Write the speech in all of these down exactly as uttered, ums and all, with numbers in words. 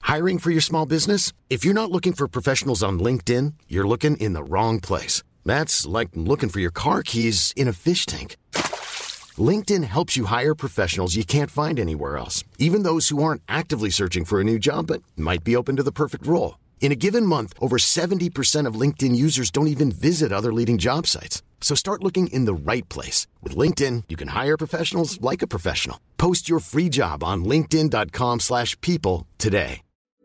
Hiring for your small business? If you're not looking for professionals on LinkedIn, you're looking in the wrong place. That's like looking for your car keys in a fish tank. LinkedIn helps you hire professionals you can't find anywhere else, even those who aren't actively searching for a new job but might be open to the perfect role. In a given month, over seventy percent of LinkedIn users don't even visit other leading job sites. So start looking in the right place. With LinkedIn, you can hire professionals like a professional. Post your free job on linkedin.com slash people today.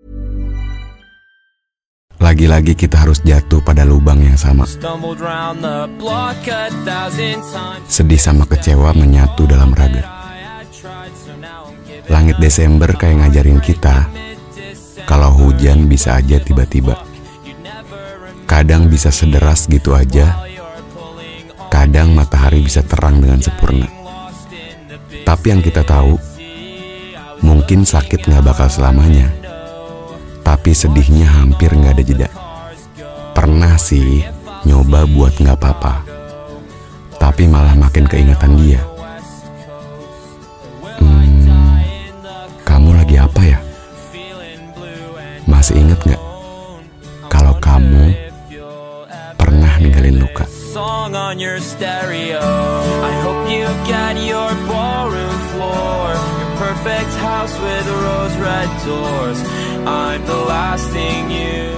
Lagi-lagi kita harus jatuh pada lubang yang sama. Sedih sama kecewa menyatu dalam raga. Langit Desember kayak ngajarin kita kalau hujan bisa aja tiba-tiba. Kadang bisa sederas gitu aja. Kadang matahari bisa terang dengan sempurna. Tapi yang kita tahu, mungkin sakit gak bakal selamanya. Tapi sedihnya hampir gak ada jeda. Pernah sih nyoba buat gak apa-apa, tapi malah makin keingatan dia. Hmm, kamu lagi apa ya? Masih inget gak kalau kamu pernah ninggalin luka? Song on your stereo. I hope you get your ballroom floor, your perfect house with rose red doors. I'm the last thing you.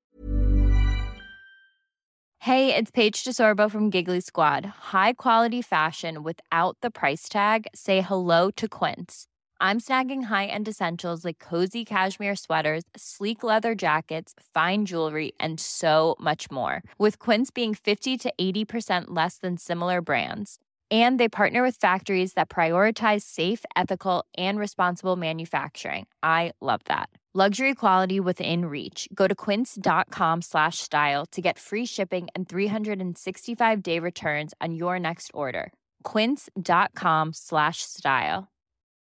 Hey, it's Paige DeSorbo from Giggly Squad. High quality fashion without the price tag. Say hello to Quince. I'm snagging high-end essentials like cozy cashmere sweaters, sleek leather jackets, fine jewelry, and so much more. With Quince being fifty to eighty percent less than similar brands. And they partner with factories that prioritize safe, ethical, and responsible manufacturing. I love that. Luxury quality within reach. Go to quince.com slash style to get free shipping and three sixty-five day returns on your next order. Quince.com slash style.